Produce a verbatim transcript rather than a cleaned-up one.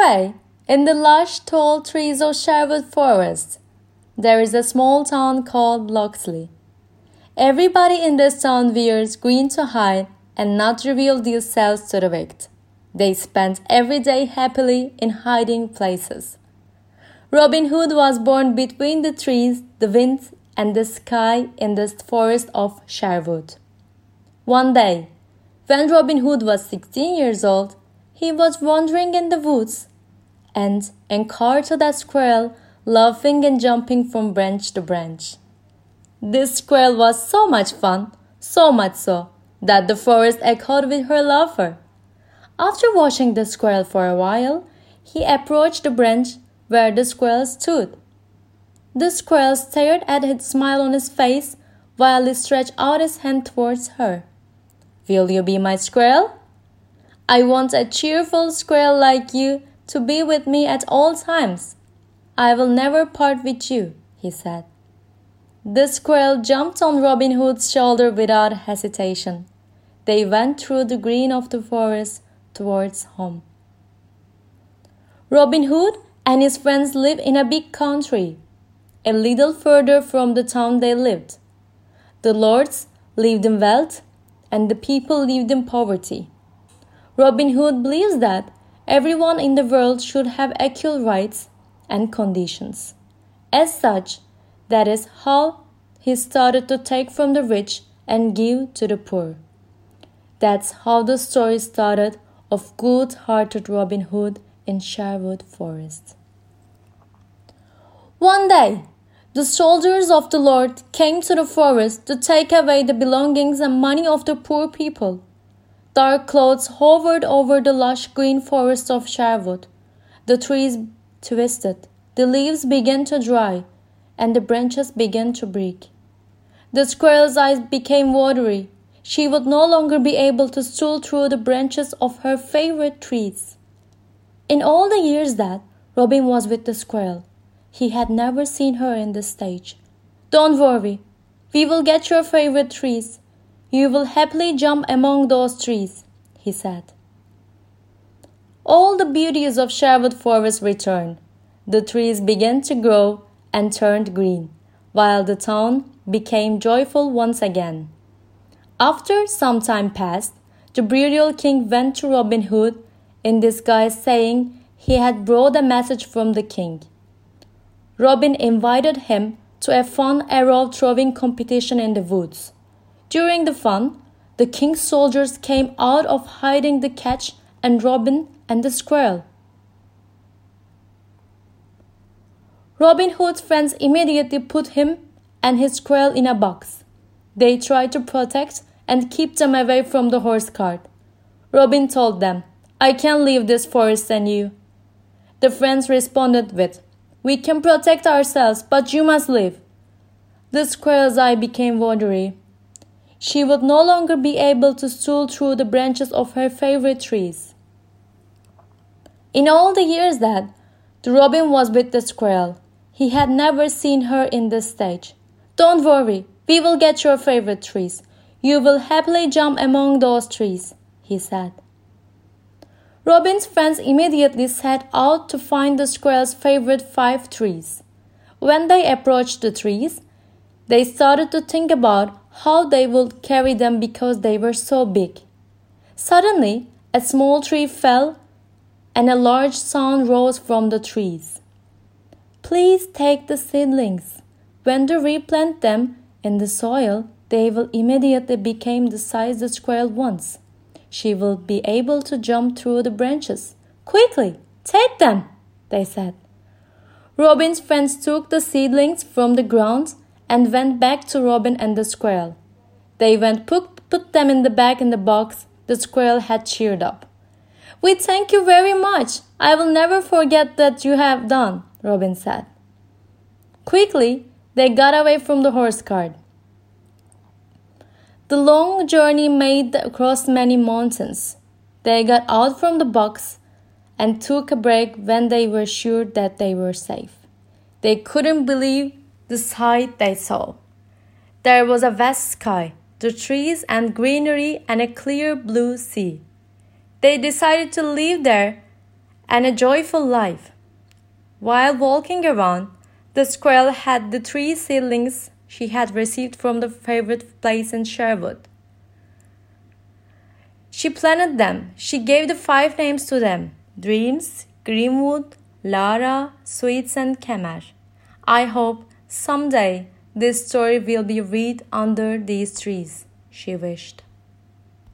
away, in the lush, tall trees of Sherwood Forest, there is a small town called Locksley. Everybody in this town wears green to hide and not reveal themselves to the wicked. They spend every day happily in hiding places. Robin Hood was born between the trees, the wind, and the sky in the forest of Sherwood. One day, when Robin Hood was sixteen years old, he was wandering in the woods and encountered a squirrel laughing and jumping from branch to branch. This squirrel was so much fun, so much so, that the forest echoed with her laughter. After watching the squirrel for a while, he approached the branch where the squirrel stood. The squirrel stared at his smile on his face while he stretched out his hand towards her. "Will you be my squirrel? I want a cheerful squirrel like you to be with me at all times. I will never part with you," he said. The squirrel jumped on Robin Hood's shoulder without hesitation. They went through the green of the forest towards home. Robin Hood and his friends lived in a big country, a little further from the town they lived. The lords lived in wealth, and the people lived in poverty. Robin Hood believes that everyone in the world should have equal rights and conditions. As such, that is how he started to take from the rich and give to the poor. That's how the story started of good-hearted Robin Hood in Sherwood Forest. One day, the soldiers of the Lord came to the forest to take away the belongings and money of the poor people. Dark clouds hovered over the lush green forest of Sherwood. The trees twisted, the leaves began to dry, and the branches began to break. The squirrel's eyes became watery. She would no longer be able to stroll through the branches of her favorite trees. In all the years that Robin was with the squirrel, he had never seen her in this stage. "Don't worry, we will get your favorite trees. You will happily jump among those trees," he said. All the beauties of Sherwood Forest returned. The trees began to grow and turned green, while the town became joyful once again. After some time passed, the burial king went to Robin Hood in disguise, saying he had brought a message from the king. Robin invited him to a fun arrow-throwing competition in the woods. During the fun, the king's soldiers came out of hiding to catch and Robin and the squirrel. Robin Hood's friends immediately put him and his squirrel in a box. They tried to protect and keep them away from the horse cart. Robin told them, "I can't leave this forest and you." The friends responded with, "We can protect ourselves, but you must leave." The squirrel's eye became watery. She would no longer be able to stroll through the branches of her favorite trees. In all the years that the Robin was with the squirrel, he had never seen her in this stage. "Don't worry, we will get your favorite trees. You will happily jump among those trees," he said. Robin's friends immediately set out to find the squirrel's favorite five trees. When they approached the trees, they started to think about how they would carry them because they were so big. Suddenly, a small tree fell and a large sound rose from the trees. "Please take the seedlings. When you replant them in the soil, they will immediately become the size the squirrel wants. She will be able to jump through the branches. Quickly, take them," they said. Robin's friends took the seedlings from the ground and went back to Robin and the squirrel. They went put, put them in the bag in the box the squirrel had cheered up. "We thank you very much. I will never forget that you have done," Robin said. Quickly, they got away from the horse cart. The long journey made across many mountains. They got out from the box and took a break when they were sure that they were safe. They couldn't believe the sight they saw. There was a vast sky, the trees and greenery, and a clear blue sea. They decided to live there and a joyful life. While walking around, the squirrel had the three seedlings she had received from the favorite place in Sherwood. She planted them. She gave the five names to them: Dreams, Greenwood, Lara, Sweets, and Kemer. I hope someday this story will be read under these trees, she wished.